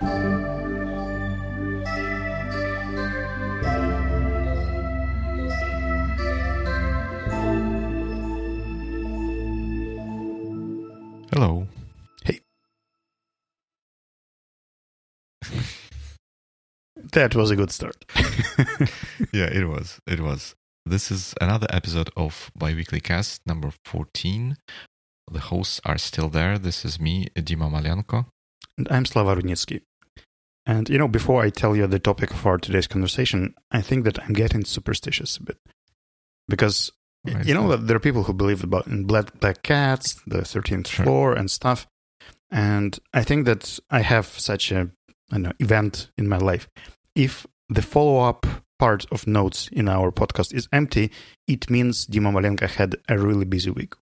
Hello. Hey. That was a good start. Yeah, it was. It was. This is another episode of Biweekly Cast number 14. The hosts are still there. This is me, Dima Malyanko. And I'm Slava Rudnitsky. And, before I tell you the topic for today's conversation, I think that I'm getting superstitious a bit. Because, that there are people who believe in black cats, the 13th floor and stuff. And I think that I have such a event in my life. If the follow-up part of notes in our podcast is empty, it means Dima Malenko had a really busy week.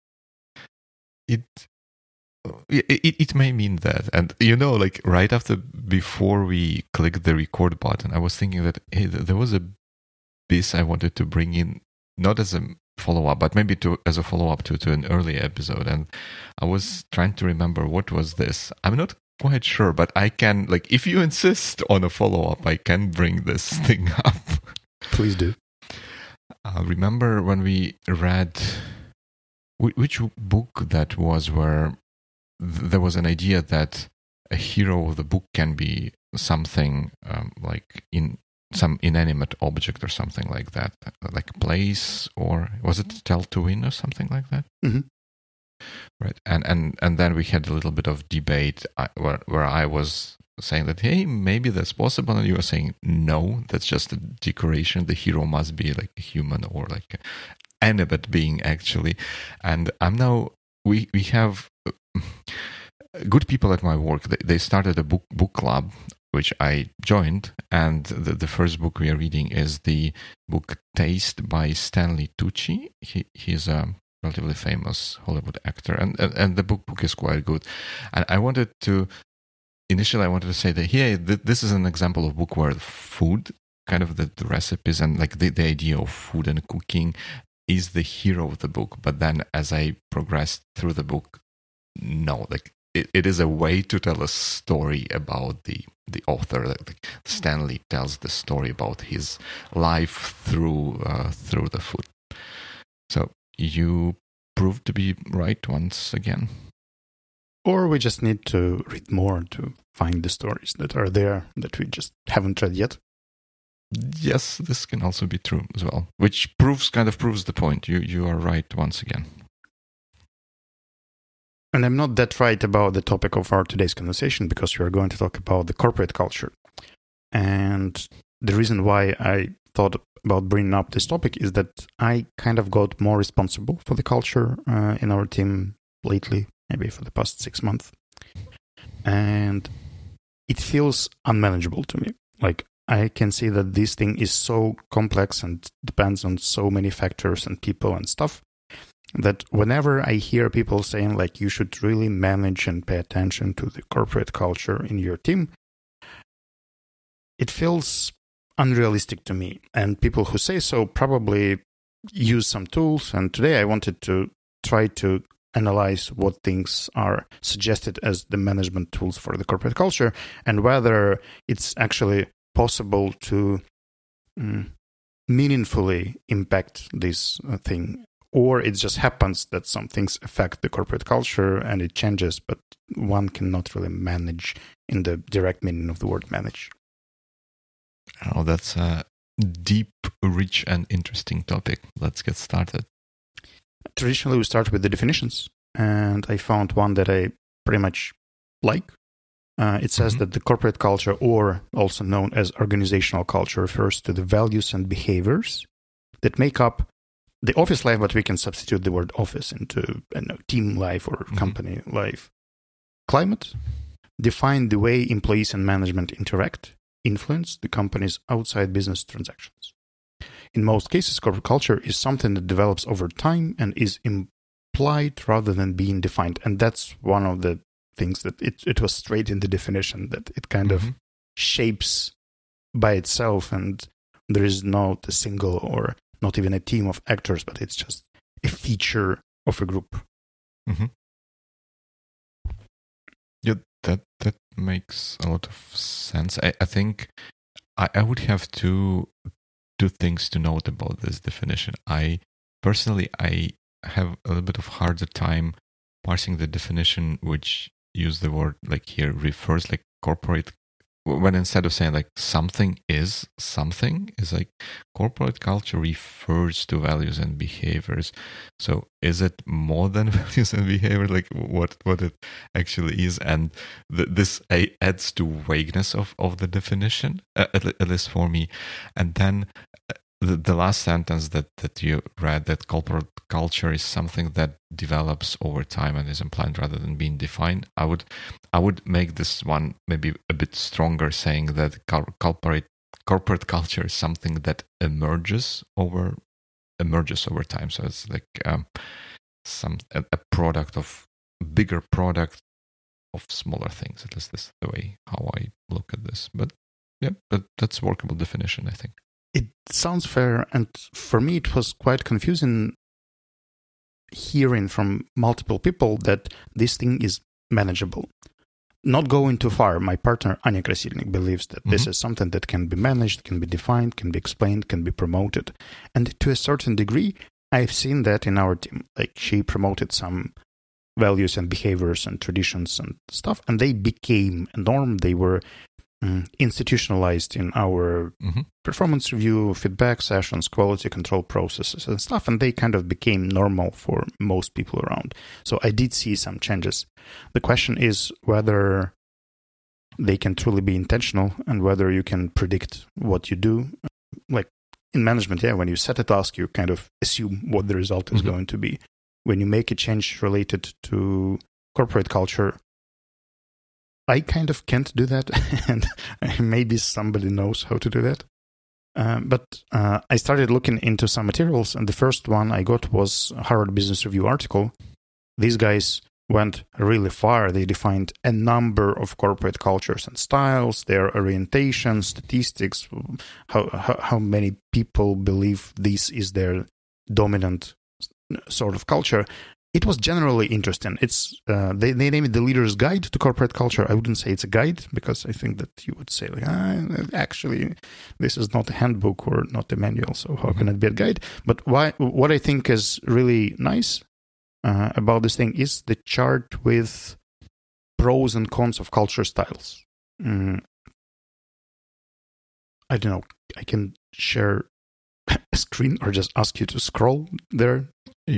It may mean that. And, right before we clicked the record button, I was thinking that, hey, there was a piece I wanted to bring in, not as a follow-up, but maybe as a follow-up to an earlier episode. And I was trying to remember what was this. I'm not quite sure, but I can, if you insist on a follow-up, I can bring this thing up. Please do. Remember when we read, which book that was, where there was an idea that a hero of the book can be something in some inanimate object or something like that, like a place, or was it Tell to Win or something like that? Mm-hmm. Right, and then we had a little bit of debate where I was saying that, hey, maybe that's possible, and you were saying no, that's just a decoration. The hero must be like a human or like an animate being, actually. And I'm now we have good people at my work. They started a book club, which I joined, and the first book we are reading is the book Taste by Stanley Tucci. He's a relatively famous Hollywood actor, and the book is quite good. And I wanted to say that here, this is an example of book where food, kind of the recipes and the idea of food and cooking is the hero of the book. But then as I progressed through the book, no, it is a way to tell a story about the author. Stanley tells the story about his life through the food. So you proved to be right once again. Or we just need to read more to find the stories that are there that we just haven't read yet. Yes, this can also be true as well, which proves the point. You are right once again. And I'm not that right about the topic of our today's conversation, because we are going to talk about the corporate culture. And the reason why I thought about bringing up this topic is that I kind of got more responsible for the culture in our team lately, maybe for the past 6 months. And it feels unmanageable to me. I can see that this thing is so complex and depends on so many factors and people and stuff, that whenever I hear people saying you should really manage and pay attention to the corporate culture in your team, it feels unrealistic to me. And people who say so probably use some tools. And today I wanted to try to analyze what things are suggested as the management tools for the corporate culture, and whether it's actually possible to meaningfully impact this thing. Or it just happens that some things affect the corporate culture and it changes, but one cannot really manage in the direct meaning of the word manage. Oh, that's a deep, rich, and interesting topic. Let's get started. Traditionally, we start with the definitions, and I found one that I pretty much like. It says that the corporate culture, or also known as organizational culture, refers to the values and behaviors that make up the office life, but we can substitute the word office into team life or company life. Climate define the way employees and management interact, influence the company's outside business transactions. In most cases, corporate culture is something that develops over time and is implied rather than being defined. And that's one of the things that it was straight in the definition, that it kind of shapes by itself, and there is not a single or not even a team of actors, but it's just a feature of a group. Yeah, that makes a lot of sense. I think I would have two things to note about this definition. I have a little bit of harder time parsing the definition which use the word like here refers like corporate, when instead of saying like something is like corporate culture refers to values and behaviors. So is it more than values and behavior, like what it actually is? And this adds to vagueness of the definition, at least for me. And then the last sentence that you read, that corporate culture is something that develops over time and is implied rather than being defined. I would make this one maybe a bit stronger, saying that corporate culture is something that emerges over time. So it's like a product of bigger product of smaller things. At least this is the way how I look at this. But yeah, but that's a workable definition, I think. It sounds fair, and for me it was quite confusing hearing from multiple people that this thing is manageable. Not going too far, my partner Anya Krasilnik believes that this is something that can be managed, can be defined, can be explained, can be promoted. And to a certain degree, I've seen that in our team. Like, she promoted some values and behaviors and traditions and stuff, and they became a norm. They were institutionalized in our performance review, feedback sessions, quality control processes and stuff, and they kind of became normal for most people around. So I did see some changes. The question is whether they can truly be intentional and whether you can predict what you do. Like in management, when you set a task, you kind of assume what the result is going to be. When you make a change related to corporate culture, I kind of can't do that, and maybe somebody knows how to do that. But I started looking into some materials, and the first one I got was a Harvard Business Review article. These guys went really far. They defined a number of corporate cultures and styles, their orientation, statistics, how many people believe this is their dominant sort of culture. It was generally interesting. It's they named it the Leader's Guide to Corporate Culture. I wouldn't say it's a guide, because I think that you would say, like, actually, this is not a handbook or not a manual, so how can it be a guide? But what I think is really nice about this thing is the chart with pros and cons of culture styles. I don't know. I can share a screen or just ask you to scroll there.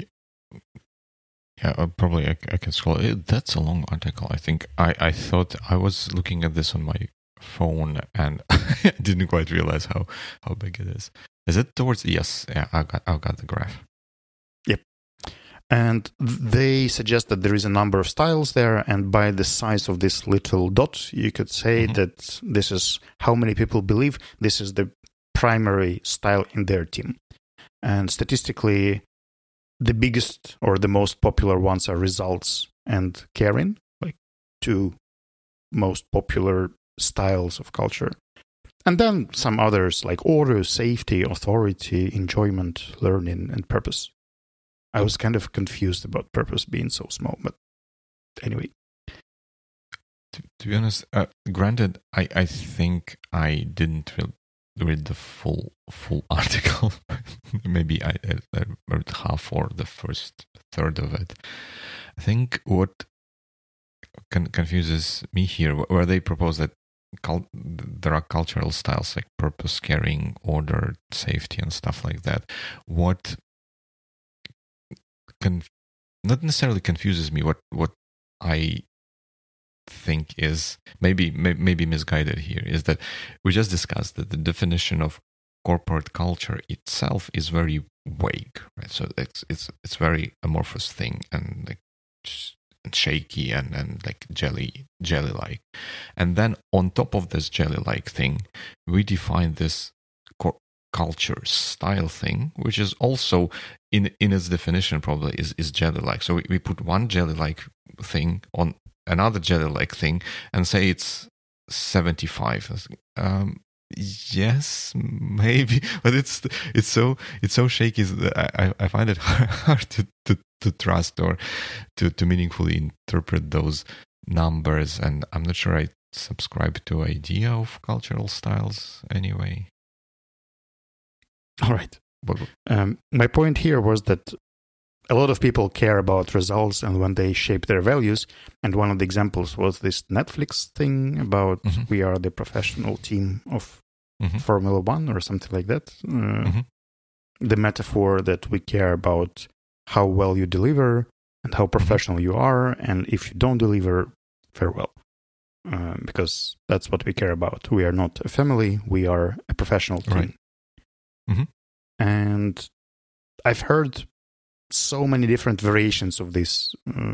Yeah, probably I can scroll. That's a long article. I think I thought I was looking at this on my phone and I didn't quite realize how big it is. Is it towards? Yes, yeah, I got the graph. Yep. And they suggest that there is a number of styles there, and by the size of this little dot, you could say that this is how many people believe this is the primary style in their team. And statistically, the biggest or the most popular ones are results and caring, like two most popular styles of culture. And then some others like order, safety, authority, enjoyment, learning, and purpose. I was kind of confused about purpose being so small, but anyway. To be honest, granted, I think I didn't read the full article. Maybe I read half or the first third of it. I think what confuses me here, where they propose that there are cultural styles like purpose, caring, order, safety, and stuff like that. What not necessarily confuses me, what I think is maybe misguided here, is that we just discussed that the definition of corporate culture itself is very vague, right? So it's very amorphous thing, and like shaky and like jelly like. And then on top of this jelly like thing, we define this culture style thing, which is also in its definition probably is jelly like. So we put one jelly like thing on another jelly-like thing and say it's 75. Yes, maybe, but it's so shaky that I find it hard to trust or to meaningfully interpret those numbers, and I'm not sure I subscribe to idea of cultural styles anyway. All right. But, my point here was that a lot of people care about results and when they shape their values. And one of the examples was this Netflix thing about we are the professional team of Formula One or something like that. The metaphor that we care about how well you deliver and how professional you are. And if you don't deliver, farewell. Because that's what we care about. We are not a family. We are a professional team. Right. And I've heard so many different variations of this,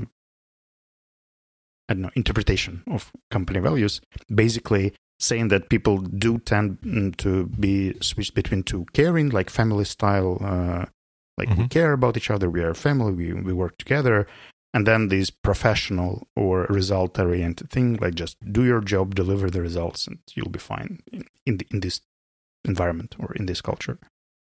interpretation of company values, basically saying that people do tend to be switched between two: caring, like family style, we care about each other, we are a family, we work together, and then this professional or result-oriented thing, like just do your job, deliver the results, and you'll be fine in this environment or in this culture.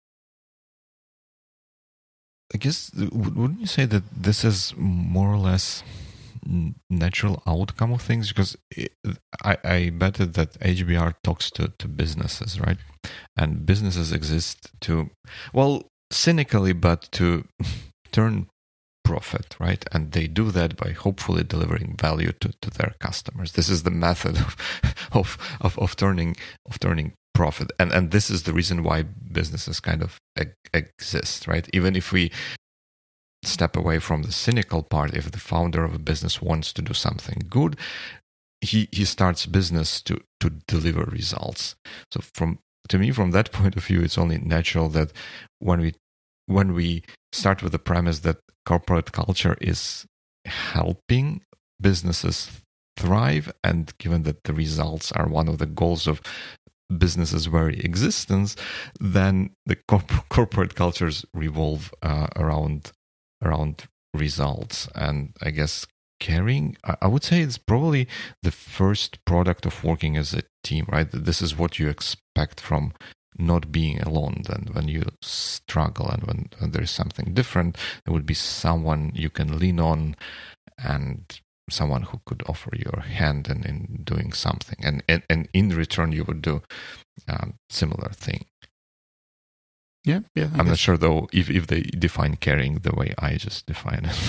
I guess, wouldn't you say that this is more or less natural outcome of things? Because I bet that HBR talks to businesses, right? And businesses exist to, well, cynically, but to turn profit, right? And they do that by hopefully delivering value to their customers. This is the method of turning profit, and this is the reason why businesses kind of exist, right? Even if we step away from the cynical part, if the founder of a business wants to do something good, he starts business to deliver results. So to me, from that point of view, it's only natural that when we start with the premise that corporate culture is helping businesses thrive, and given that the results are one of the goals of businesses' very existence, then the corporate cultures revolve around results. And I guess caring, I would say, it's probably the first product of working as a team, right? This is what you expect from not being alone. Then when you struggle and when there's something different, there would be someone you can lean on and someone who could offer your hand in doing something, and in return you would do similar thing. Yeah. I'm not sure though if they define caring the way I just define it.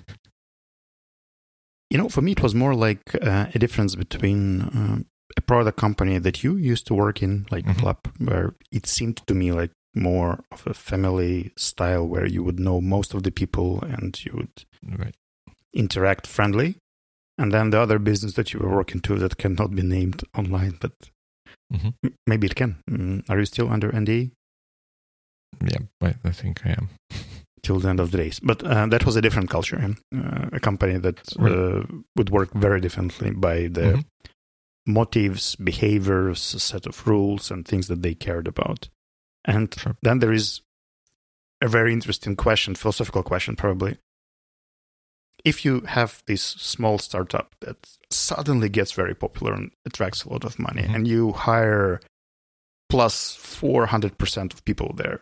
For me, it was more like a difference between a product company that you used to work in, like Club, where it seemed to me like more of a family style, where you would know most of the people and you would interact friendly. And then the other business that you were working to that cannot be named online, but maybe it can. Are you still under NDA? Yeah, I think I am. Till the end of the days. But that was a different culture. A company that would work very differently by the motives, behaviors, a set of rules and things that they cared about. And then there is a very interesting question, philosophical question probably. If you have this small startup that suddenly gets very popular and attracts a lot of money, and you hire plus 400% of people there,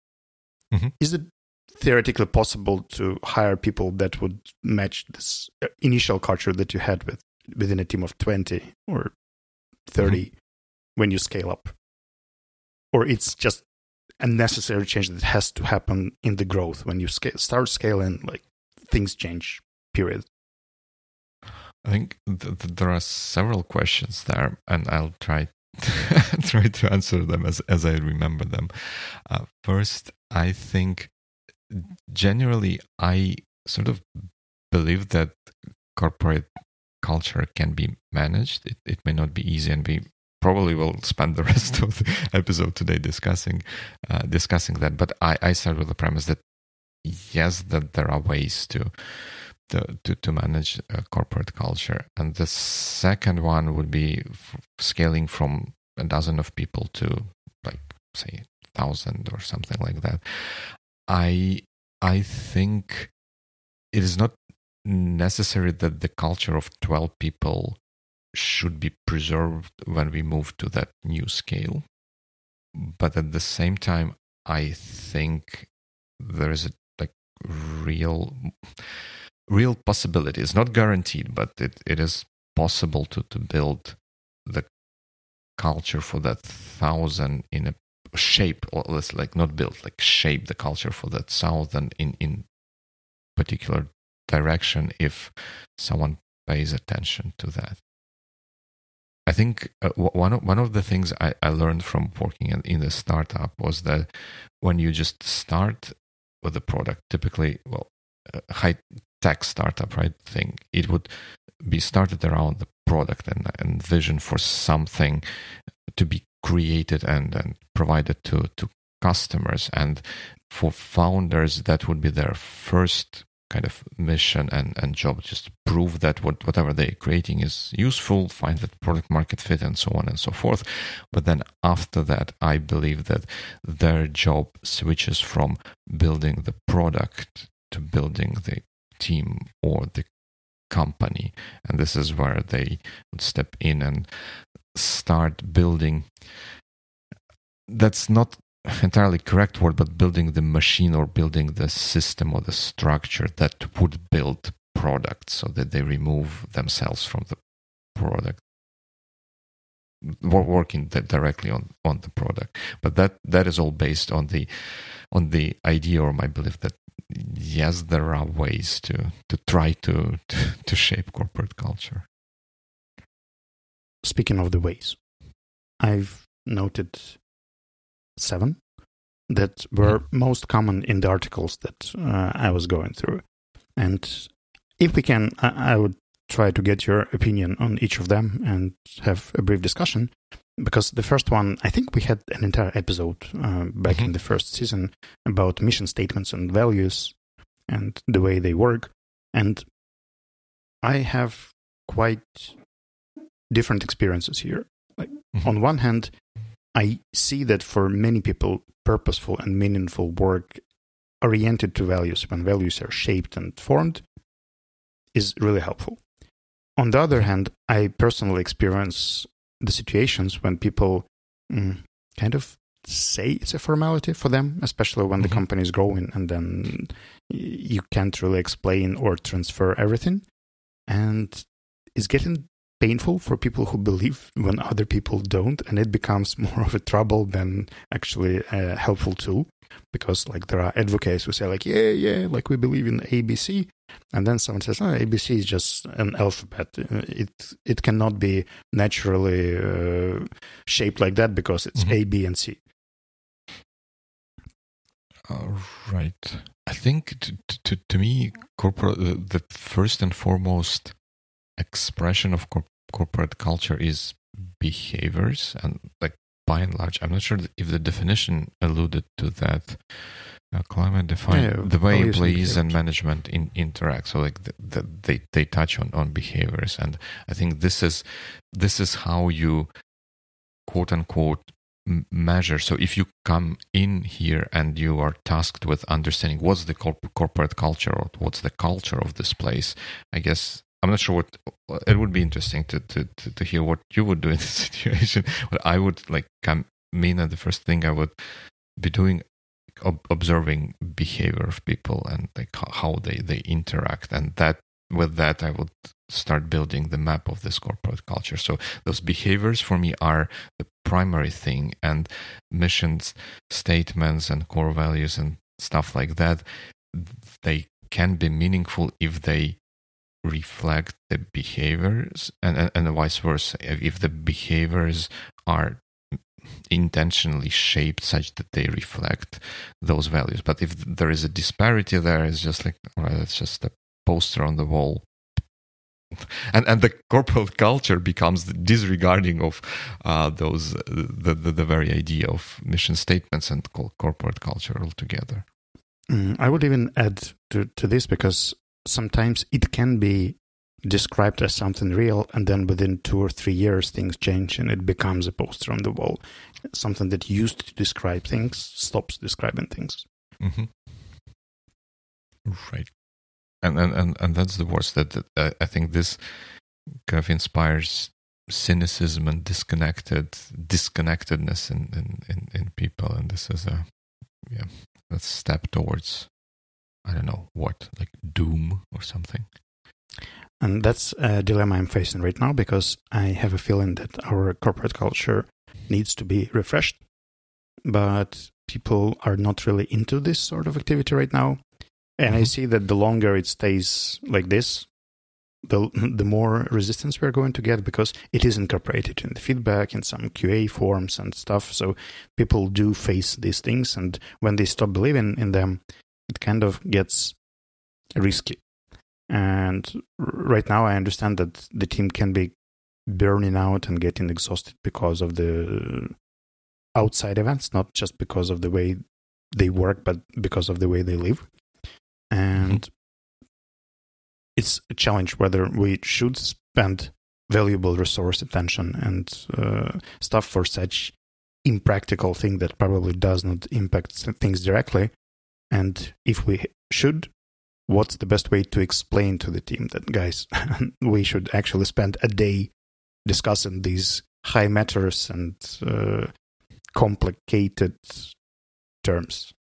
is it theoretically possible to hire people that would match this initial culture that you had within a team of 20 or 30 when you scale up? Or it's just a necessary change that has to happen in the growth? When you start scaling, like, things change, period. I think there are several questions there, and I'll try to answer them as I remember them. First, I think generally I sort of believe that corporate culture can be managed. It may not be easy, and we probably will spend the rest of the episode today discussing that. But I start with the premise that yes, that there are ways to manage corporate culture. And the second one would be scaling from a dozen of people to, like, say, 1,000 or something like that. I think it is not necessary that the culture of 12 people should be preserved when we move to that new scale. But at the same time, I think there is a real possibility. It's not guaranteed, but it is possible to build the culture for that 1,000 in a shape, or let's like not build, like shape the culture for that 1,000 in particular direction if someone pays attention to that. I think one of the things I learned from working in the startup was that when you just start with a product, typically, a high-tech startup, right, thing, it would be started around the product and vision for something to be created and provided to customers. And for founders, that would be their first kind of mission and job, just to prove that whatever they're creating is useful, find that product market fit, and so on and so forth. But then after that, I believe that their job switches from building the product to building the team or the company. And this is where they would step in and start building. That's not entirely correct word, but building the machine or building the system or the structure that would build products, so that they remove themselves from the product, working directly on the product. But that is all based on the idea or my belief that yes, there are ways to try to shape corporate culture. Speaking of the ways, I've noted 7 that were most common in the articles that I was going through. And if we can, I would try to get your opinion on each of them and have a brief discussion. Because the first one, I think we had an entire episode back in the first season about mission statements and values and the way they work. And I have quite different experiences here. Like, on one hand, I see that for many people, purposeful and meaningful work oriented to values, when values are shaped and formed, is really helpful. On the other hand, I personally experience the situations when people kind of say it's a formality for them, especially when the company is growing, and then you can't really explain or transfer everything. And it's getting painful for people who believe when other people don't, and it becomes more of a trouble than actually a helpful tool, because like there are advocates who say like, yeah, like we believe in ABC, and then someone says, ABC is just an alphabet. It cannot be naturally shaped like that because it's A, B, and C. Right. I think to me, the first and foremost expression of corporate culture is behaviors, and like by and large, I'm not sure if the definition alluded to that. Climate define the way employees and management interact. So like they touch on behaviors, and I think this is how you quote unquote measure. So if you come in here and you are tasked with understanding what's the corporate culture or what's the culture of this place, I guess I'm not sure what it would be interesting to hear what you would do in this situation. But I would like come in, and the first thing I would be doing, observing behavior of people and like how they interact, and with that I would start building the map of this corporate culture. So those behaviors for me are the primary thing, and missions, statements, and core values and stuff like that, they can be meaningful if they reflect the behaviors, and vice versa. If the behaviors are intentionally shaped such that they reflect those values. But if there is a disparity there, it's just like, all right, it's just a poster on the wall. And the corporate culture becomes disregarding of those the very idea of mission statements and corporate culture altogether. I would even add to this, because sometimes it can be described as something real, and then within 2 or 3 years things change and it becomes a poster on the wall. Something that used to describe things stops describing things. Right. And that's the worst. That I think this kind of inspires cynicism and disconnectedness in people, and this is a step towards, I don't know what, like doom or something. And that's a dilemma I'm facing right now, because I have a feeling that our corporate culture needs to be refreshed, but people are not really into this sort of activity right now. And I see that the longer it stays like this, the more resistance we're going to get, because it is incorporated in the feedback, in some QA forms and stuff. So people do face these things, and when they stop believing in them, it kind of gets risky. And right now I understand that the team can be burning out and getting exhausted because of the outside events, not just because of the way they work, but because of the way they live. And it's a challenge whether we should spend valuable resource, attention, and stuff for such impractical thing that probably does not impact things directly. And if we should, what's the best way to explain to the team that, guys, we should actually spend a day discussing these high matters and complicated terms?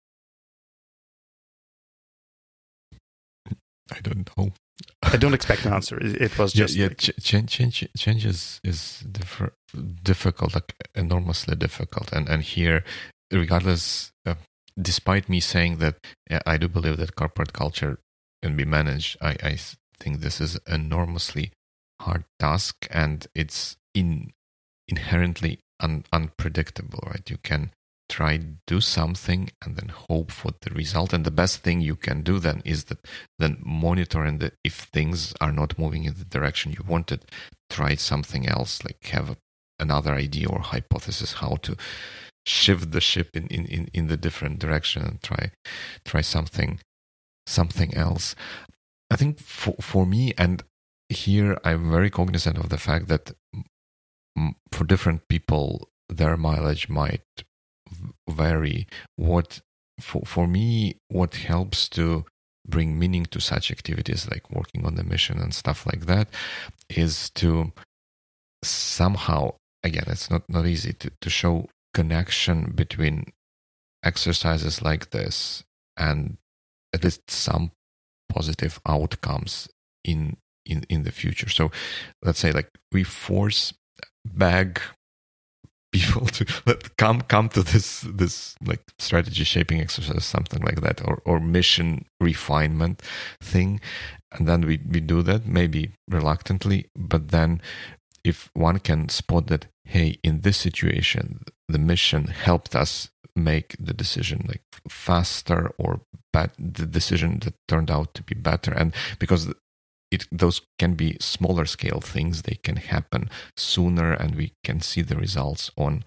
I don't know. I don't expect an answer. It was just change is difficult, like enormously difficult, and here, regardless, despite me saying that I do believe that corporate culture can be managed, I think this is enormously hard task, and it's inherently unpredictable, right? You can try do something and then hope for the result, and the best thing you can do then is that then monitor, and if things are not moving in the direction you wanted, try something else, like have another idea or hypothesis how to shift the ship in the different direction, and try something else. I think for me, and here I'm very cognizant of the fact that for different people their mileage might vary. For me, what helps to bring meaning to such activities, like working on the mission and stuff like that, is to somehow, again, it's not easy to show connection between exercises like this and at least some positive outcomes in the future. So let's say, like, we force bag people to come to this like strategy shaping exercise, something like that, or mission refinement thing, and then we do that, maybe reluctantly, but then if one can spot that, hey, in this situation the mission helped us make the decision like faster, or the decision that turned out to be better, and because those can be smaller scale things, they can happen sooner, and we can see the results on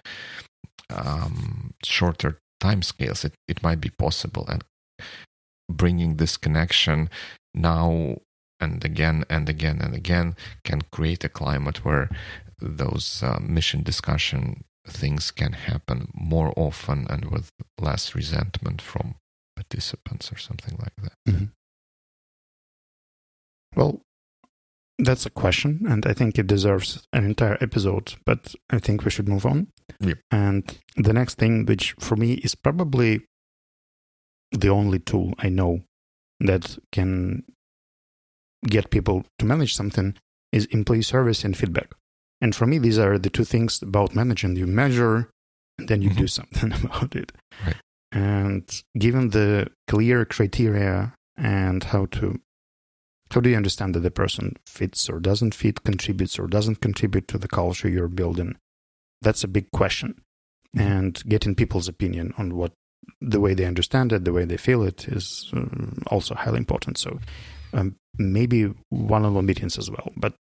shorter time scales. It might be possible, and bringing this connection now and again and again and again can create a climate where those mission discussion things can happen more often and with less resentment from participants or something like that. Mm-hmm. Well, that's a question, and I think it deserves an entire episode, but I think we should move on. Yep. And the next thing, which for me is probably the only tool I know that can get people to manage something, is employee service and feedback. And for me, these are the two things about managing. You measure, and then you do something about it. Right. And given the clear criteria and how do you understand that the person fits or doesn't fit, contributes or doesn't contribute to the culture you're building? That's a big question. And getting people's opinion on what the way they understand it, the way they feel it, is also highly important. So maybe one-on-one meetings as well. But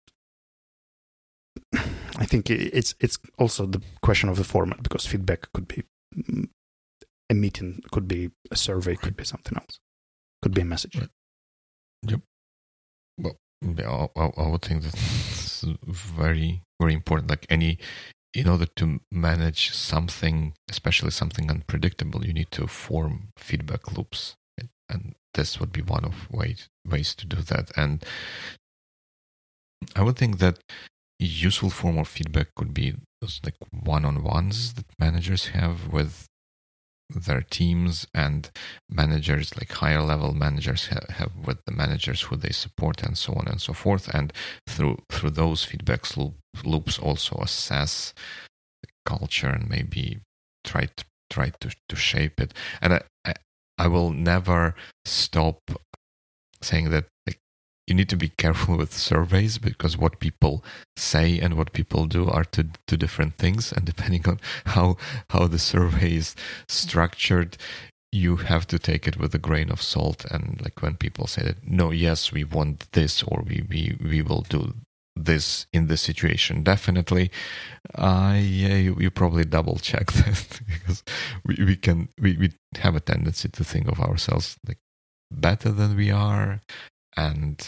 I think it's also the question of the format, because feedback could be a meeting, could be a survey, could be something else, could be a message. Right. Yep. Well, I would think that's very, very important. Like in order to manage something, especially something unpredictable, you need to form feedback loops, and this would be one of ways to do that. And I would think that a useful form of feedback could be those like one-on-ones that managers have with their teams, and managers, like higher level managers, have with the managers who they support, and so on and so forth. And through those feedback loops, also assess the culture and maybe try to shape it. And I will never stop saying that, like, you need to be careful with surveys, because what people say and what people do are two different things. And depending on how the survey is structured, you have to take it with a grain of salt. And like when people say that, no, yes, we want this, or we will do this in this situation, definitely, you probably double check that, because we have a tendency to think of ourselves like better than we are. And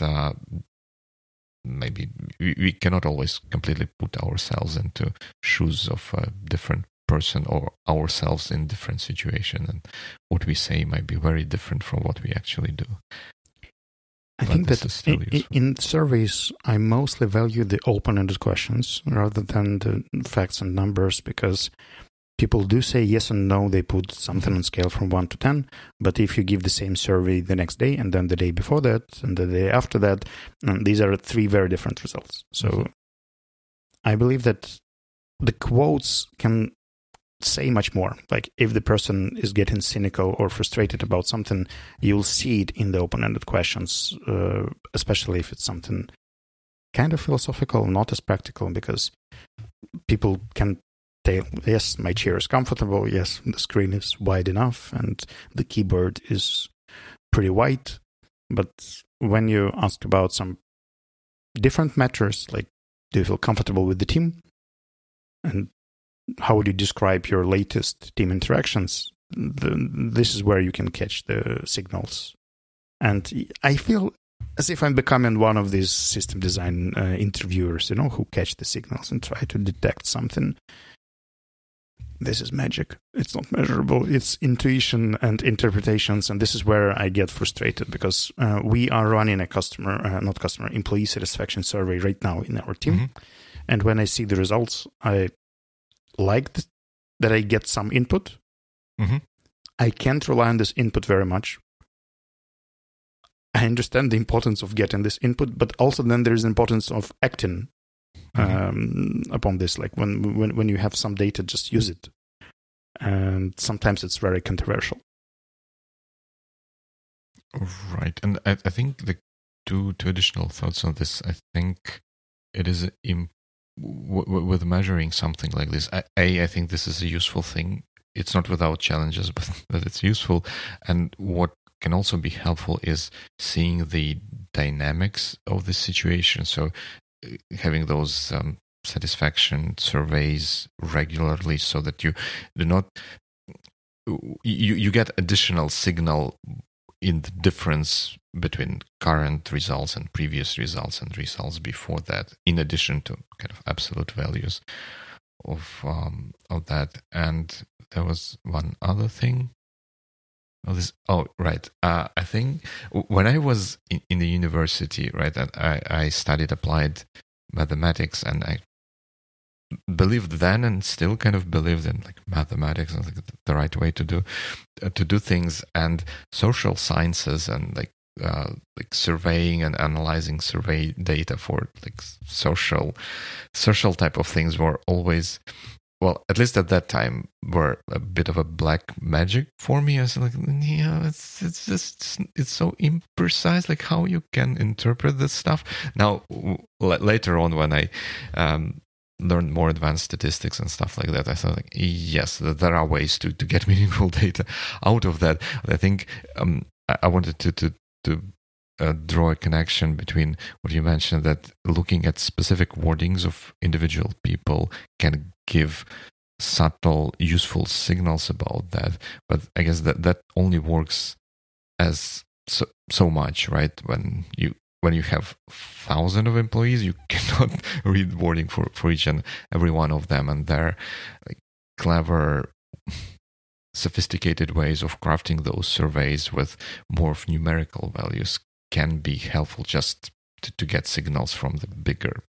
maybe we cannot always completely put ourselves into shoes of a different person, or ourselves in different situation, and what we say might be very different from what we actually do. I think that in surveys, I mostly value the open-ended questions rather than the facts and numbers, because people do say yes and no. They put something on scale from 1 to 10. But if you give the same survey the next day, and then the day before that, and the day after that, these are 3 very different results. So I believe that the quotes can say much more. Like if the person is getting cynical or frustrated about something, you'll see it in the open-ended questions, especially if it's something kind of philosophical, not as practical, because people can say, yes, my chair is comfortable, yes, the screen is wide enough, and the keyboard is pretty white. But when you ask about some different matters, like do you feel comfortable with the team? And how would you describe your latest team interactions? This is where you can catch the signals. And I feel as if I'm becoming one of these system design interviewers, who catch the signals and try to detect something. This is magic. It's not measurable. It's intuition and interpretations. And this is where I get frustrated, because we are running a employee satisfaction survey right now in our team. Mm-hmm. And when I see the results, I like that I get some input. Mm-hmm. I can't rely on this input very much. I understand the importance of getting this input, but also then there is the importance of acting upon this. Like when you have some data, just use it. And sometimes it's very controversial. Right. And I think the two additional thoughts on this. I think it is with measuring something like this. I think this is a useful thing. It's not without challenges, but it's useful. And what can also be helpful is seeing the dynamics of the situation. So having those satisfaction surveys regularly, so that you do not you get additional signal in the difference between current results and previous results and results before that, in addition to kind of absolute values of that. And there was one other thing. Right. I think when I was in the university, right, I studied applied mathematics, and I believed then, and still kind of believed in like mathematics and like the right way to do things, and social sciences and like surveying and analyzing survey data for like social type of things were always, well, at least at that time, were a bit of a black magic for me. I was like, yeah, it's so imprecise, like how you can interpret this stuff. Now, later on, when I learned more advanced statistics and stuff like that, I thought, like, yes, there are ways to get meaningful data out of that. I think I wanted to draw a connection between what you mentioned, that looking at specific wordings of individual people can give subtle, useful signals about that. But I guess that only works as so much, right? When you have thousands of employees, you cannot read wording for each and every one of them, and their like clever, sophisticated ways of crafting those surveys with more of numerical values can be helpful just to get signals from the bigger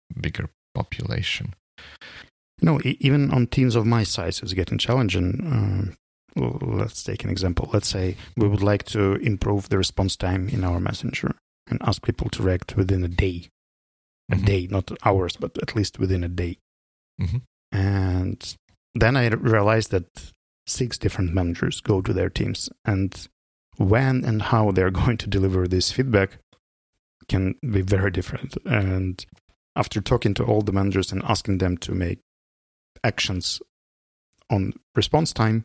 population. Even on teams of my size, it's getting challenging. let's take an example. Let's say we would like to improve the response time in our messenger and ask people to react within a day. A day, not hours, but at least within a day. And then I realized that 6 different managers go to their teams, and when and how they're going to deliver this feedback can be very different. And after talking to all the managers and asking them to make actions on response time,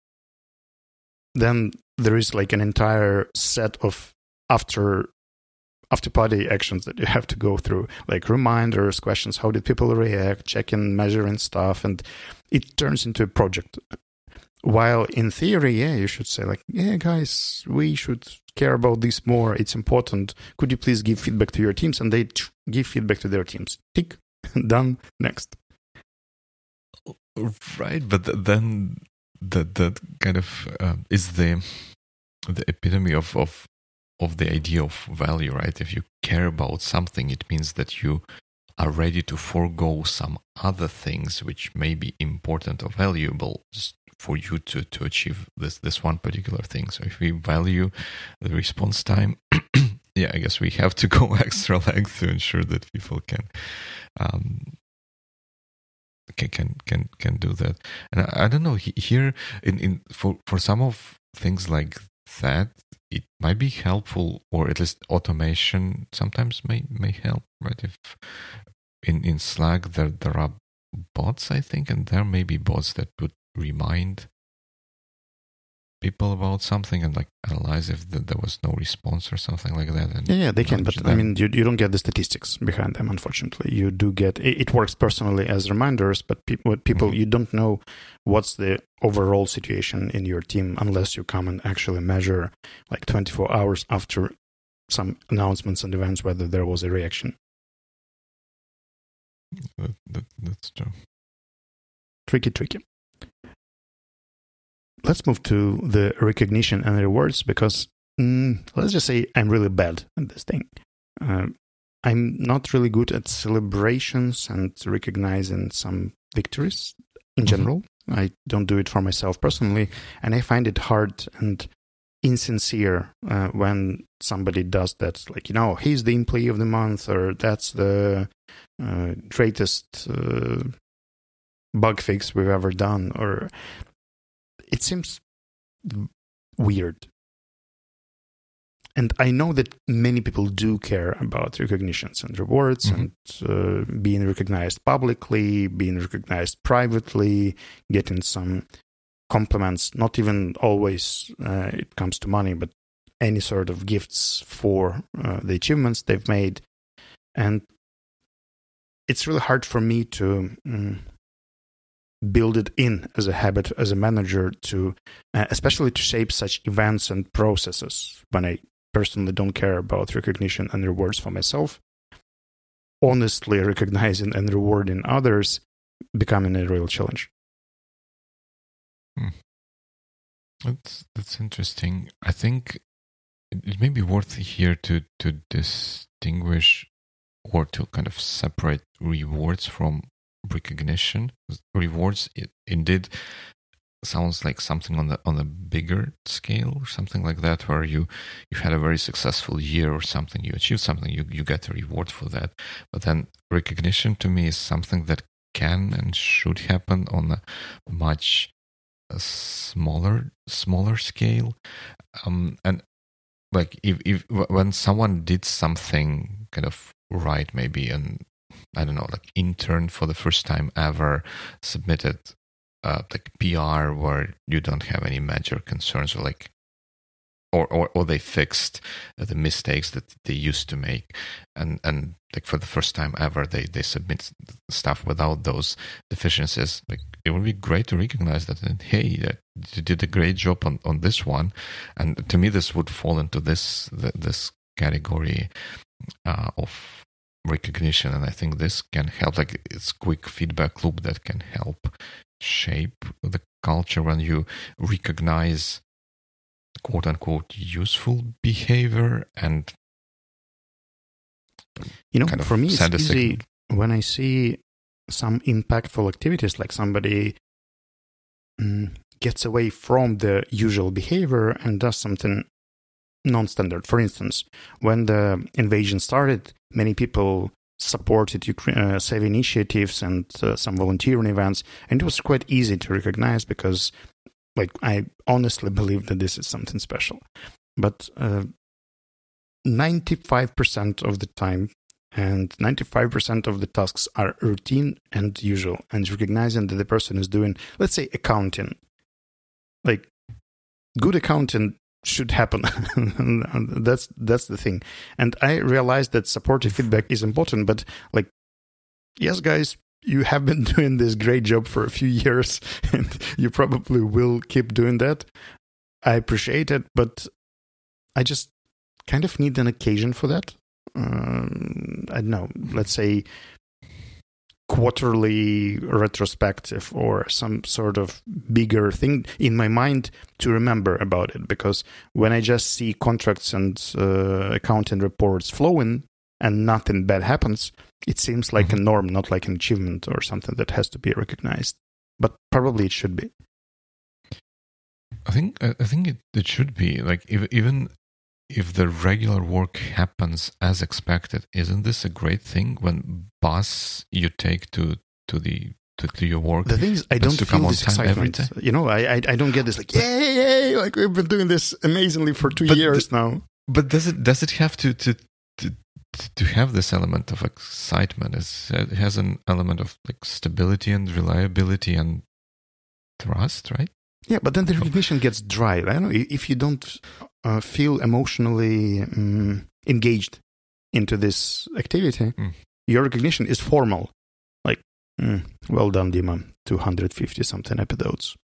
then there is like an entire set of after-party actions that you have to go through, like reminders, questions, how did people react, checking, measuring stuff, and it turns into a project. While in theory, you should say like, guys, we should care about this more. It's important. Could you please give feedback to your teams? And they give feedback to their teams. Tick, done, next. Right, but then that kind of is the epitome of the idea of value, right? If you care about something, it means that you are ready to forego some other things which may be important or valuable just for you to achieve this one particular thing. So if we value the response time, I guess we have to go extra length to ensure that people can do that. And I don't know, here for some of things like that, it might be helpful, or at least automation sometimes may help, right? If in Slack there are bots, I think, and there may be bots that would remind people about something and like analyze if there was no response or something like that. And they can, but them. I mean, you don't get the statistics behind them, unfortunately. You do get, it works personally as reminders, but people you don't know what's the overall situation in your team unless you come and actually measure like 24 hours after some announcements and events whether there was a reaction. That's true. Tricky. Let's move to the recognition and rewards, because let's just say I'm really bad at this thing. I'm not really good at celebrations and recognizing some victories in general. I don't do it for myself personally, and I find it hard and insincere when somebody does that. Like, he's the employee of the month, or that's the greatest bug fix we've ever done, or it seems weird. And I know that many people do care about recognitions and rewards and being recognized publicly, being recognized privately, getting some compliments, not even always it comes to money, but any sort of gifts for the achievements they've made. And it's really hard for me to build it in as a habit as a manager to, especially to shape such events and processes when I personally don't care about recognition and rewards for myself. Honestly recognizing and rewarding others becoming a real challenge. That's interesting. I think it may be worth here to distinguish or to kind of separate rewards from recognition. Rewards, it indeed sounds like something on a bigger scale or something like that, where you had a very successful year or something, you achieved something, you get a reward for that. But then recognition to me is something that can and should happen on a much smaller scale, and like if when someone did something kind of right, maybe, and I don't know, like intern for the first time ever, submitted like PR where you don't have any major concerns, or like or they fixed the mistakes that they used to make, and like for the first time ever they submit stuff without those deficiencies. Like, it would be great to recognize that, and hey, that you did a great job on this one. And to me, this would fall into this category of recognition, and I think this can help. Like, it's quick feedback loop that can help shape the culture when you recognize quote unquote useful behavior. And for me, it's easy when I see some impactful activities, like somebody gets away from the usual behavior and does something non-standard. For instance, when the invasion started, many people supported save initiatives and some volunteering events, and it was quite easy to recognize because, I honestly believe that this is something special. But 95% of the time and 95% of the tasks are routine and usual, and recognizing that the person is doing, let's say, accounting. Good accounting should happen. That's the thing. And I realized that supportive feedback is important, but yes, guys, you have been doing this great job for a few years, and you probably will keep doing that. I appreciate it, but I just kind of need an occasion for that. I don't know, let's say quarterly retrospective or some sort of bigger thing in my mind to remember about it. Because when I just see contracts and accounting reports flowing and nothing bad happens, it seems like a norm, not like an achievement or something that has to be recognized. But probably it should be. I think it should be even if the regular work happens as expected. Isn't this a great thing when you take to your work? The thing is, I don't feel this excitement. I don't get this yay! We've been doing this amazingly for 2 years now. But does it have to have this element of excitement? It has an element of stability and reliability and trust, right? Yeah, but then the recognition gets dry. I don't know, if you don't feel emotionally engaged into this activity, your recognition is formal. Well done, Dima, 250 something episodes.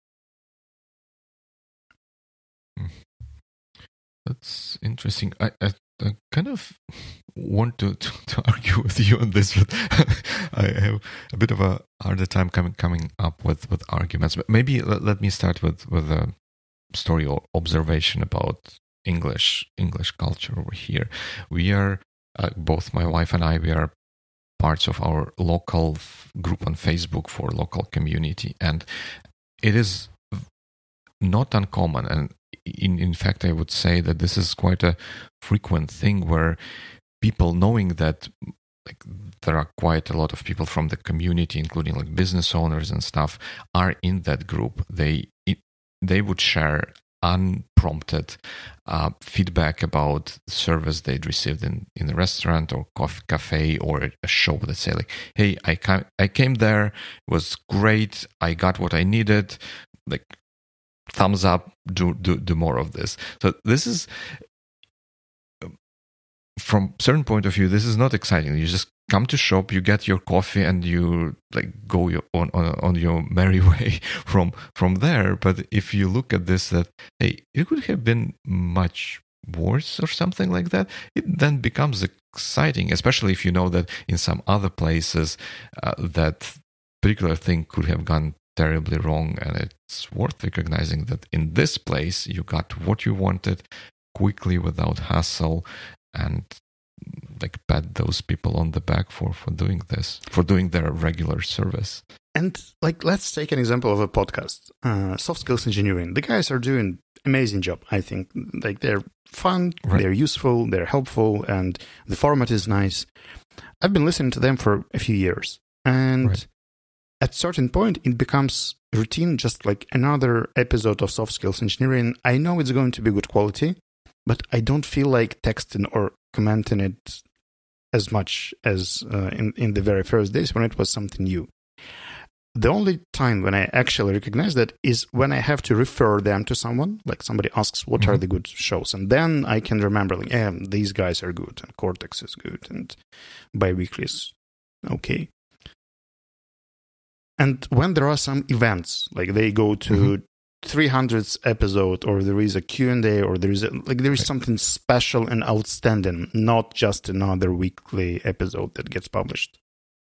That's interesting. I kind of want to argue with you on this, but I have a bit of a harder time coming up with arguments. But maybe let me start with a story or observation about English culture over here. We are both my wife and I. We are parts of our local group on Facebook for local community, and it is not uncommon. And in fact, I would say that this is quite a frequent thing where people, knowing that there are quite a lot of people from the community, including business owners and stuff, are in that group, they would share unprompted feedback about service they'd received in a restaurant or cafe or a show. That say hey, I came there, it was great, I got what I needed, thumbs up, do more of this. So this is, from certain point of view, this is not exciting. You just come to shop, you get your coffee, and you go on your merry way from there. But if you look at this, that hey, it could have been much worse or something like that, it then becomes exciting, especially if you know that in some other places that particular thing could have gone terribly wrong, and it's worth recognizing that in this place you got what you wanted quickly without hassle, and pat those people on the back for doing this, for doing their regular service. And let's take an example of a podcast, Soft Skills Engineering. The guys are doing amazing job, I think. They're fun, right. They're useful, they're helpful, and the format is nice. I've been listening to them for a few years, and right. At certain point, it becomes routine, just like another episode of Soft Skills Engineering. I know it's going to be good quality, but I don't feel like texting or commenting it as much as in the very first days when it was something new. The only time when I actually recognize that is when I have to refer them to someone, somebody asks, what are the good shows? And then I can remember, these guys are good, and Cortex is good, and Biweekly is okay. And when there are some events, they go to 300th episode, or there is a Q&A, or there is something special and outstanding, not just another weekly episode that gets published.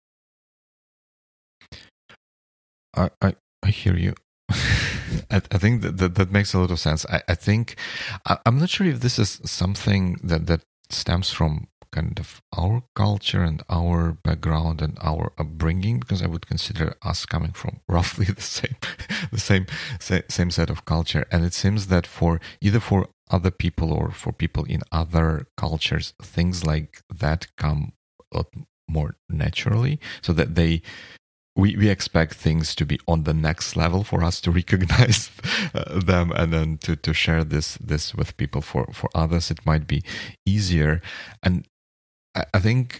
I hear you. I think that makes a lot of sense. I think I'm not sure if this is something that stems from kind of our culture and our background and our upbringing, because I would consider us coming from roughly the same set of culture. And it seems that for other people or for people in other cultures, things like that come a lot more naturally, so that we expect things to be on the next level for us to recognize them, and then to share this with people. For others, it might be easier. And I think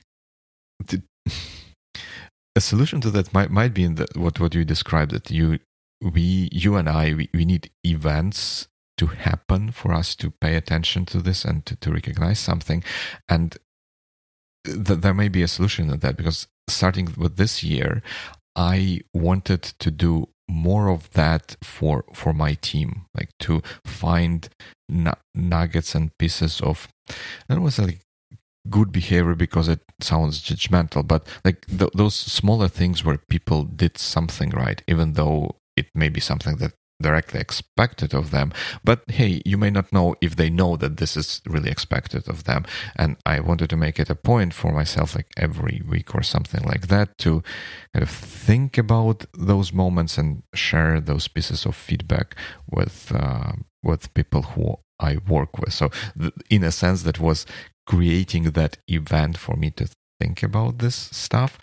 a solution to that might be in what you described, that you and I need events to happen for us to pay attention to this and to recognize something. And there may be a solution to that, because starting with this year, I wanted to do more of that for my team, like to find nuggets and pieces of, I don't want to say like good behavior because it sounds judgmental, but like those smaller things where people did something right, even though it may be something that directly expected of them. But hey, you may not know if they know that this is really expected of them. And I wanted to make it a point for myself, like every week or something like that, to kind of think about those moments and share those pieces of feedback with people who I work with. So in a sense, that was creating that event for me to think about this stuff.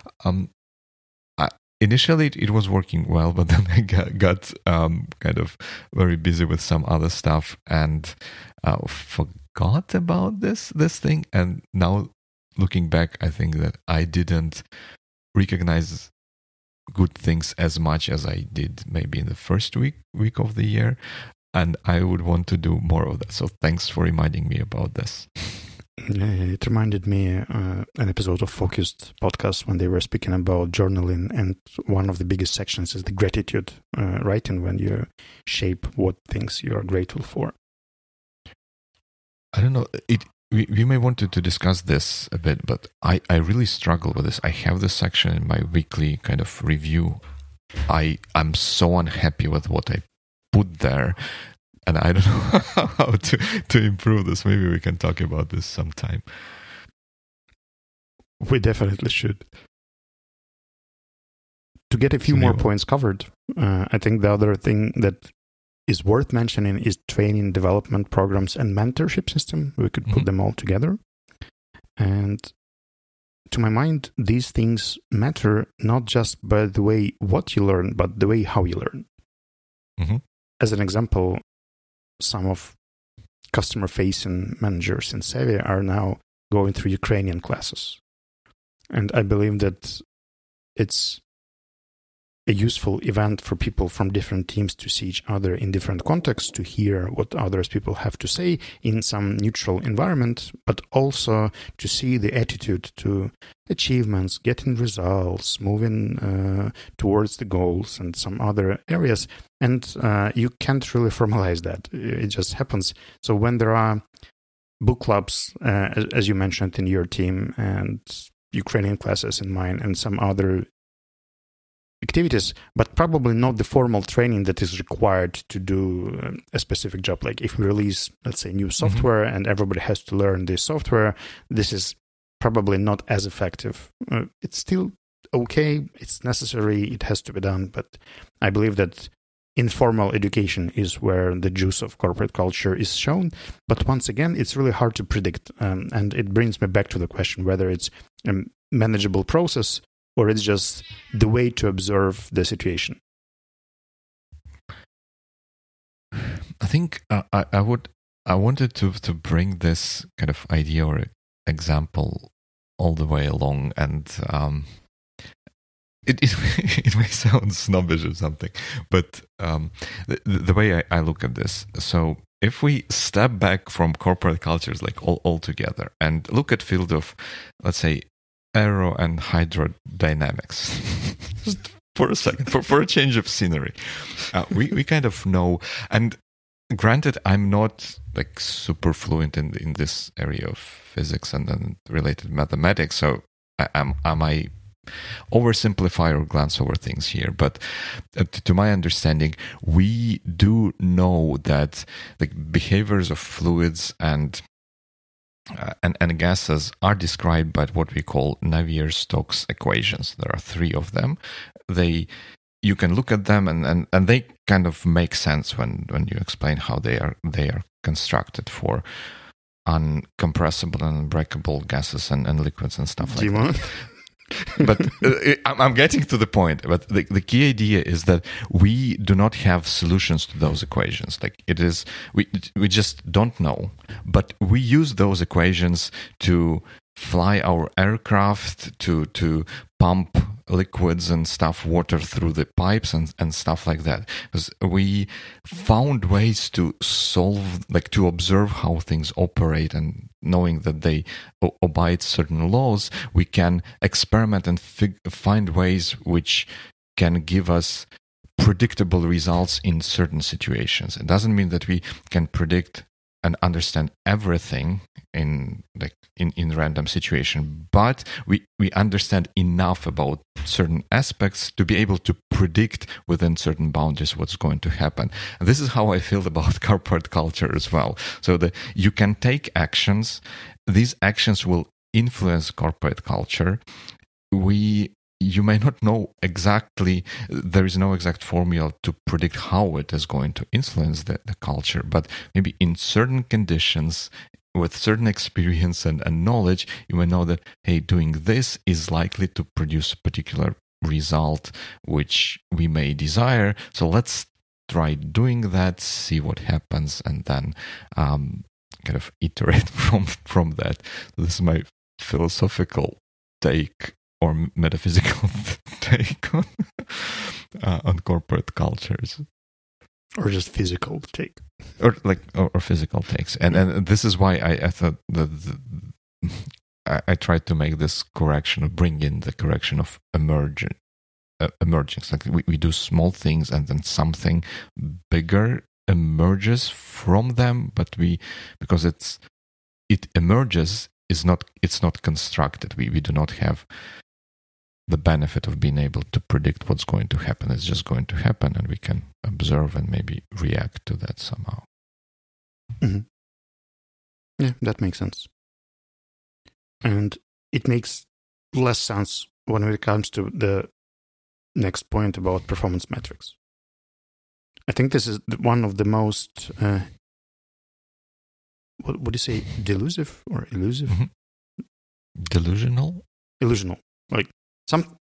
Initially, it was working well, but then I got kind of very busy with some other stuff and forgot about this thing. And now, looking back, I think that I didn't recognize good things as much as I did maybe in the first week of the year. And I would want to do more of that. So thanks for reminding me about this. It reminded me an episode of Focused podcast when they were speaking about journaling, and one of the biggest sections is the gratitude writing, when you shape what things you are grateful for. I don't know. We may want to discuss this a bit, but I really struggle with this. I have this section in my weekly kind of review. I'm so unhappy with what I put there. And I don't know how to improve this. Maybe we can talk about this sometime. We definitely should. To get a few more points covered, I think the other thing that is worth mentioning is training, development programs, and mentorship system. We could put them all together. And to my mind, these things matter not just by the way what you learn, but the way how you learn. Mm-hmm. As an example, some of customer-facing managers in Savvy are now going through Ukrainian classes. And I believe that it's a useful event for people from different teams to see each other in different contexts, to hear what others people have to say in some neutral environment, but also to see the attitude to achievements, getting results, moving towards the goals and some other areas. And you can't really formalize that. It just happens. So when there are book clubs, as you mentioned in your team, and Ukrainian classes in mine, and some other activities, but probably not the formal training that is required to do a specific job. Like if we release, let's say, new software and everybody has to learn this software, this is probably not as effective. It's still okay. It's necessary. It has to be done. But I believe that informal education is where the juice of corporate culture is shown. But once again, it's really hard to predict. And it brings me back to the question whether it's a manageable process or it's just the way to observe the situation. I think I wanted to bring this kind of idea or example all the way along, and it may sound snobbish or something, but the way I look at this, so if we step back from corporate cultures like all together and look at field of, let's say, aero and hydrodynamics, just for a second, for a change of scenery, we kind of know. And granted, I'm not like super fluent in this area of physics and related mathematics, so I might oversimplify or glance over things here. But to my understanding, we do know that like behaviors of fluids and and gases are described by what we call Navier-Stokes equations. There are 3 of them. You can look at them and they kind of make sense when you explain how they are constructed for uncompressible and unbreakable gases and liquids and stuff like that. But I'm getting to the point. But the key idea is that we do not have solutions to those equations. Like it is, we just don't know. But we use those equations to fly our aircraft, to pump liquids and stuff, water through the pipes and stuff like that. Because we found ways to solve, like to observe how things operate, and knowing that they obey certain laws, we can experiment and find ways which can give us predictable results in certain situations. It doesn't mean that we can predict and understand everything in random situation, but we understand enough about certain aspects to be able to predict within certain boundaries what's going to happen. And this is how I feel about corporate culture as well. So that you can take actions, these actions will influence corporate culture. You may not know exactly, there is no exact formula to predict how it is going to influence the culture, but maybe in certain conditions, with certain experience and knowledge, you may know that, hey, doing this is likely to produce a particular result which we may desire. So let's try doing that, see what happens, and then kind of iterate from that. This is my philosophical take or metaphysical take on corporate cultures, or just physical take, or physical takes. And this is why I thought that I tried to make this correction, bring in the correction of emerging. Like we do small things and then something bigger emerges from them, but because it emerges, it's not constructed. We do not have the benefit of being able to predict what's going to happen. It's just going to happen, and we can observe and maybe react to that somehow. Mm-hmm. Yeah, that makes sense. And it makes less sense when it comes to the next point about performance metrics. I think this is one of the most, what would you say, delusive or elusive? Mm-hmm. Delusional? Illusional. Like some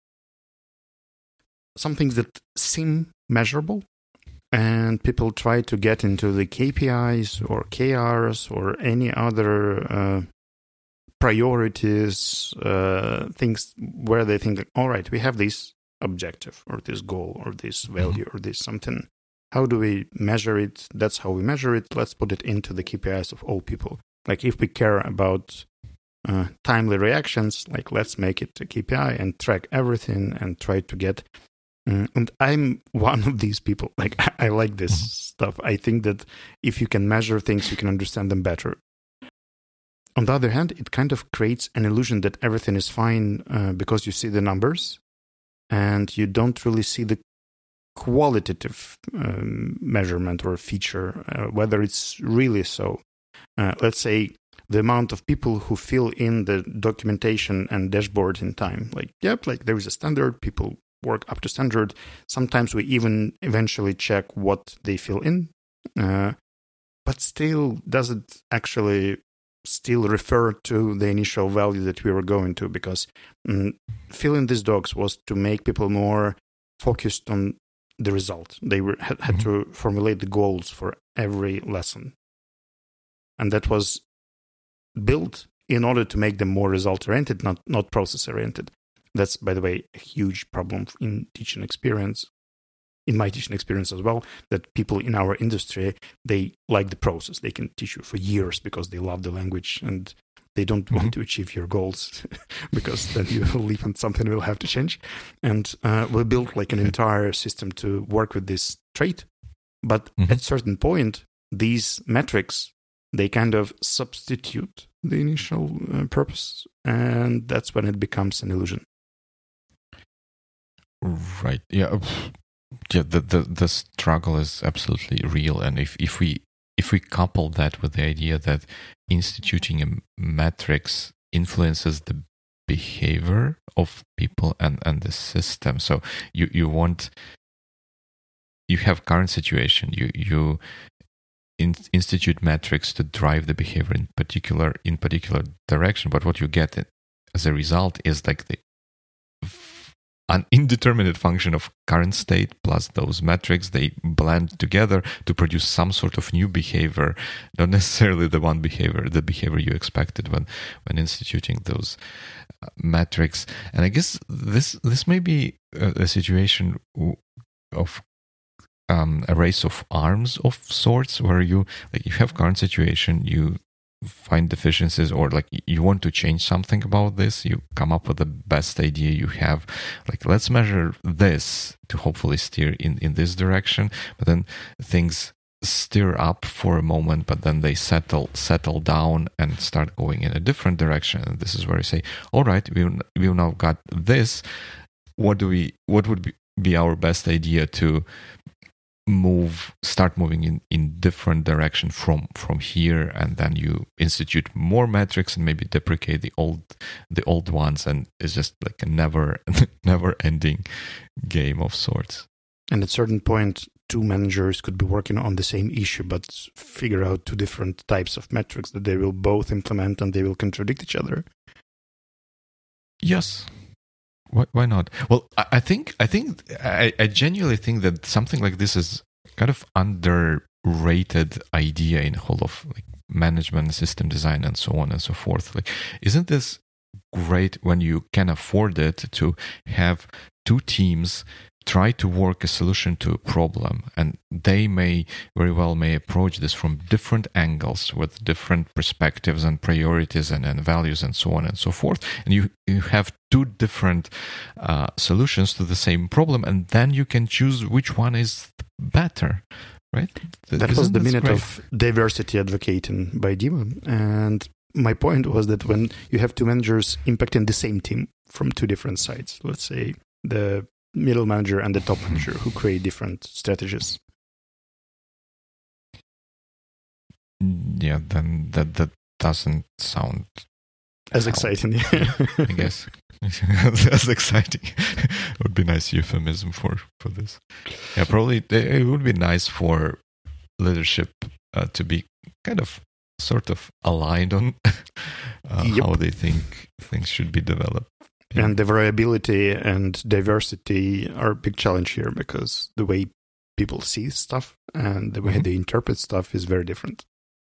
things that seem measurable, and people try to get into the KPIs or KRs or any other priorities, things where they think, all right, we have this objective or this goal or this value or this something. How do we measure it? That's how we measure it. Let's put it into the KPIs of all people. Like if we care about timely reactions, like let's make it a KPI and track everything and try to get. And I'm one of these people. Like I like this stuff. I think that if you can measure things, you can understand them better. On the other hand, it kind of creates an illusion that everything is fine because you see the numbers and you don't really see the qualitative measurement or feature, whether it's really so. Let's say the amount of people who fill in the documentation and dashboard in time. Like there is a standard, people work up to standard. Sometimes we even eventually check what they fill in, but still doesn't actually still refer to the initial value that we were going to, because filling these docs was to make people more focused on the result. They had to formulate the goals for every lesson. And that was built in order to make them more result-oriented, not process-oriented. That's, by the way, a huge problem in teaching experience, in my teaching experience as well, that people in our industry, they like the process. They can teach you for years because they love the language and they don't want to achieve your goals because then you will leave and something will have to change. And we built like an entire system to work with this trait. But at a certain point, these metrics, they kind of substitute the initial purpose, and that's when it becomes an illusion. Right. Yeah. The struggle is absolutely real, and if we if we couple that with the idea that instituting a metrics influences the behavior of people and the system. So you have current situation, you institute metrics to drive the behavior in particular direction, but what you get as a result is like an indeterminate function of current state plus those metrics. They blend together to produce some sort of new behavior, not necessarily the behavior you expected when instituting those metrics. And I guess this may be a situation of a race of arms of sorts, where you have current situation, you find deficiencies, or like you want to change something about this, you come up with the best idea you have, like let's measure this to hopefully steer in this direction, but then things stir up for a moment, but then they settle down and start going in a different direction. And this is where you say, all right, we've now got this, what would be our best idea to start moving in different direction from here, and then you institute more metrics and maybe deprecate the old ones, and it's just like a never ending game of sorts. And at a certain point, two managers could be working on the same issue but figure out two different types of metrics that they will both implement, and they will contradict each other. Yes. Why not? Well, I genuinely think that something like this is kind of underrated idea in whole of like management, system design, and so on and so forth. Like, isn't this great when you can afford it to have two teams try to work a solution to a problem, and they may very well approach this from different angles with different perspectives and priorities and values and so on and so forth, and you have two different solutions to the same problem, and then you can choose which one is better, right? That was the minute of diversity advocating by Dima, and my point was that when you have two managers impacting the same team from two different sides, let's say the middle manager and the top manager who create different strategies. Yeah, then that doesn't sound as exciting. I guess as exciting would be a nice euphemism for this. Yeah, probably it would be nice for leadership to be kind of sort of aligned on how they think things should be developed. And the variability and diversity are a big challenge here, because the way people see stuff and the way they interpret stuff is very different.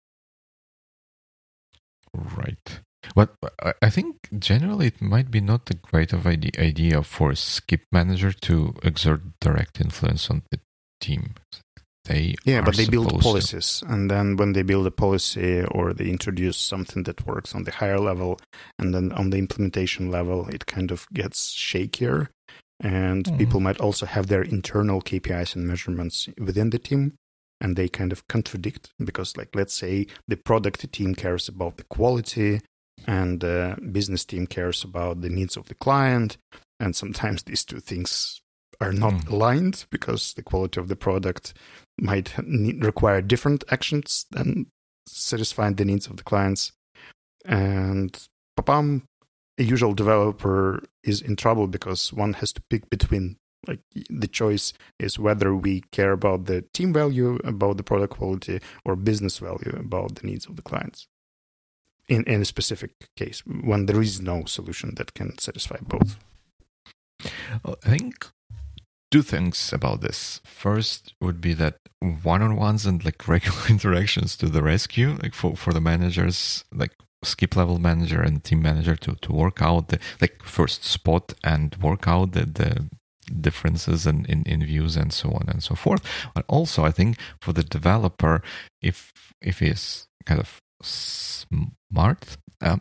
Right. But I think generally it might be not a great of idea for a skip manager to exert direct influence on the team. But they build policies, and then when they build a policy or they introduce something that works on the higher level, and then on the implementation level, it kind of gets shakier, and people might also have their internal KPIs and measurements within the team, and they kind of contradict, because like, let's say the product team cares about the quality and the business team cares about the needs of the client, and sometimes these two things are not aligned, because the quality of the product might require different actions than satisfying the needs of the clients. And a usual developer is in trouble, because one has to pick between, like, the choice is whether we care about the team value, about the product quality, or business value, about the needs of the clients. In a specific case, when there is no solution that can satisfy both. I think two things about this. First would be that one-on-ones and like regular interactions to the rescue, like for the managers, like skip level manager and team manager to work out the, like, first spot and work out the differences in views and so on and so forth. But also I think for the developer, if he's kind of smart,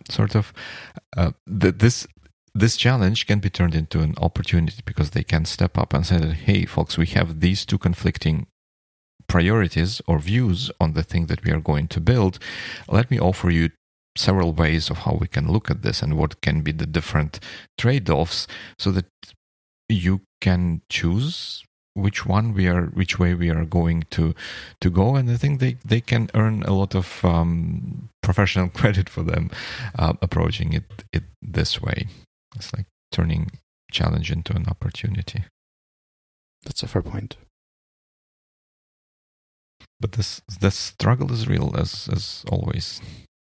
this challenge can be turned into an opportunity, because they can step up and say that, hey, folks, we have these two conflicting priorities or views on the thing that we are going to build. Let me offer you several ways of how we can look at this and what can be the different trade-offs, so that you can choose which way we are going to go, and I think they can earn a lot of professional credit for them approaching it this way. It's like turning challenge into an opportunity. That's a fair point. But this struggle is real as always.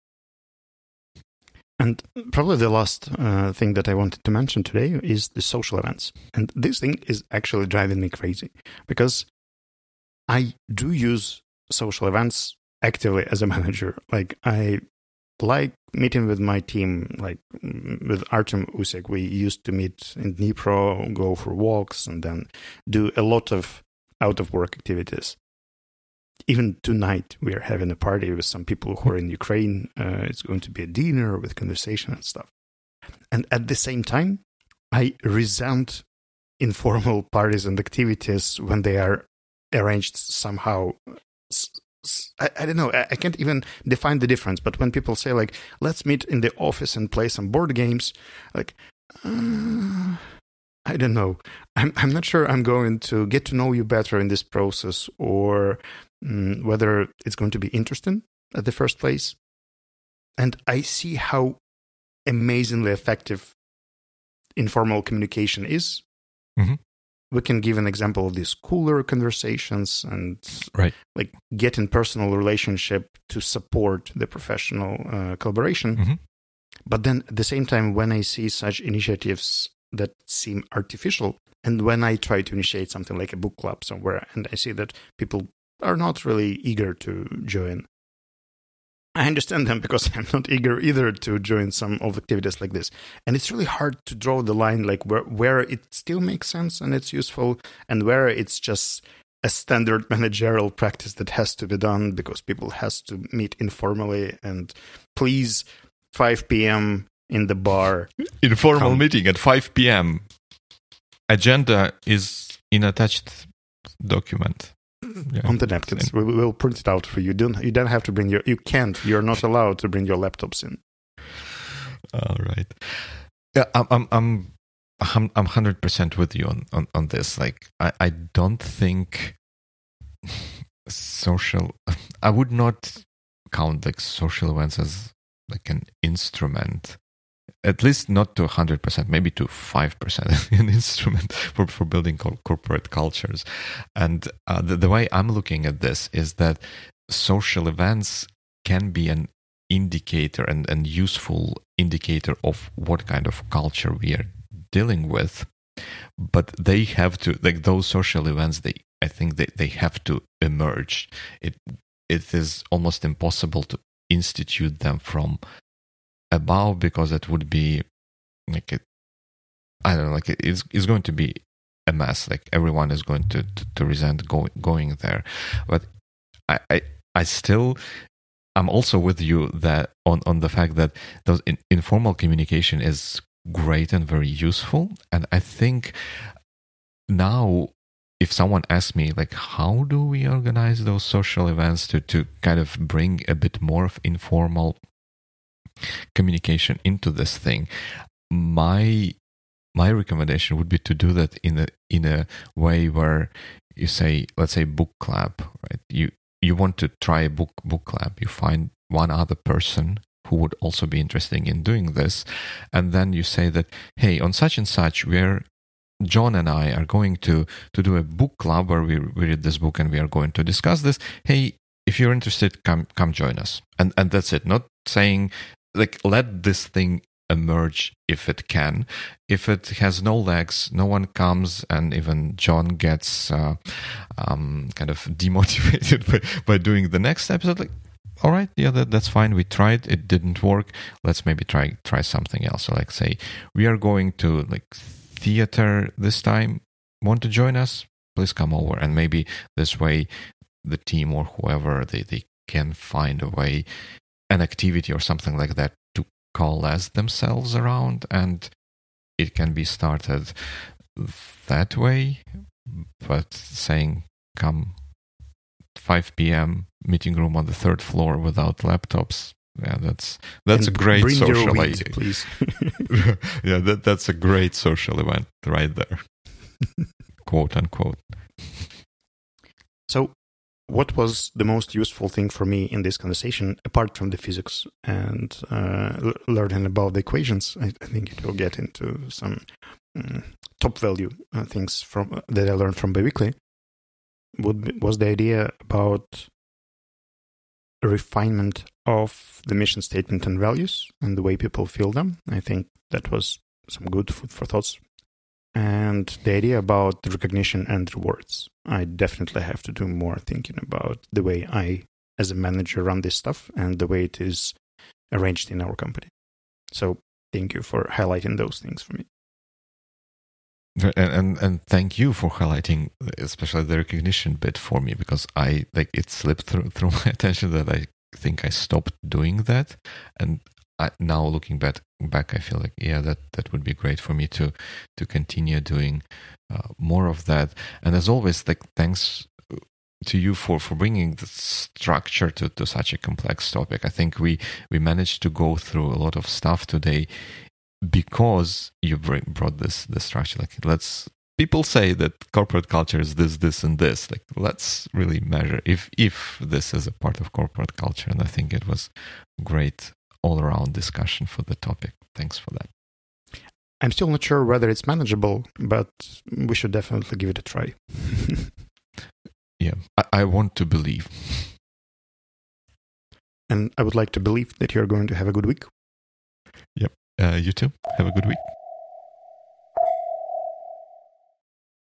And probably the last thing that I wanted to mention today is the social events. And this thing is actually driving me crazy because I do use social events actively as a manager. Like I like meeting with my team, like with Artem Usik. We used to meet in Dnipro, go for walks, and then do a lot of out-of-work activities. Even tonight, we are having a party with some people who are in Ukraine. It's going to be a dinner with conversation and stuff. And at the same time, I resent informal parties and activities when they are arranged somehow. I don't know. I can't even define the difference. But when people say, like, let's meet in the office and play some board games, like, I don't know. I'm not sure I'm going to get to know you better in this process, or whether it's going to be interesting at the first place. And I see how amazingly effective informal communication is. Mm-hmm. We can give an example of these cooler conversations and right, like get in personal relationship to support the professional collaboration. Mm-hmm. But then at the same time, when I see such initiatives that seem artificial, and when I try to initiate something like a book club somewhere, and I see that people are not really eager to join, I understand them because I'm not eager either to join some of the activities like this. And it's really hard to draw the line, like where it still makes sense and it's useful, and where it's just a standard managerial practice that has to be done because people has to meet informally and please 5 p.m. in the bar. Informal meeting at 5 p.m. Agenda is in attached document. Yeah. On the napkins. We will print it out for you. You don't have to bring you're not allowed to bring your laptops in. All right. Yeah, I'm 100% with you on this. Like, I don't think I would not count like social events as like an instrument, at least not to 100%, maybe to 5% an instrument for building corporate cultures. And the way I'm looking at this is that social events can be an indicator and useful indicator of what kind of culture we are dealing with. But they have to, like those social events, I think they have to emerge. It is almost impossible to institute them from above, because it would be like it's going to be a mess. Like everyone is going to resent going there. But I still, I'm also with you that on the fact that those informal communication is great and very useful. And I think now, if someone asks me, like, how do we organize those social events to kind of bring a bit more of informal communication into this thing, my recommendation would be to do that in a way where you say, let's say book club, right? You want to try a book club. You find one other person who would also be interested in doing this, and then you say that, hey, on such and such, John and I are going to do a book club where we read this book and we are going to discuss this. Hey, if you're interested, come join us. And that's it. Not saying, like, let this thing emerge if it can. If it has no legs, no one comes, and even John gets kind of demotivated by doing the next episode. Like, all right, yeah, that's fine. We tried, it didn't work. Let's maybe try something else. So, like, say we are going to like theater this time. Want to join us? Please come over, and maybe this way, the team or whoever they can find a way, an activity or something like that to coalesce themselves around, and it can be started that way. But saying, come 5 p.m. meeting room on the 3rd floor without laptops, yeah, that's a great social idea, please. Yeah, that's a great social event right there, quote unquote. So what was the most useful thing for me in this conversation, apart from the physics and learning about the equations? I think it will get into some top value things that I learned from Biweekly. Was the idea about refinement of the mission statement and values and the way people feel them. I think that was some good food for thoughts. And the idea about the recognition and rewards. I definitely have to do more thinking about the way I, as a manager, run this stuff and the way it is arranged in our company. So thank you for highlighting those things for me. And thank you for highlighting especially the recognition bit for me, because it slipped through my attention that I think I stopped doing that, and now looking back I feel like that would be great for me to continue doing more of that. And as always, thanks to you for bringing the structure to such a complex topic. I think we managed to go through a lot of stuff today because you brought the structure. People say that corporate culture is this and this. Let's really measure if this is a part of corporate culture. And I think it was great all around discussion for the topic. Thanks for that. I'm still not sure whether it's manageable, but we should definitely give it a try. Yeah, I want to believe. And I would like to believe that you're going to have a good week. Yep. You too. Have a good week.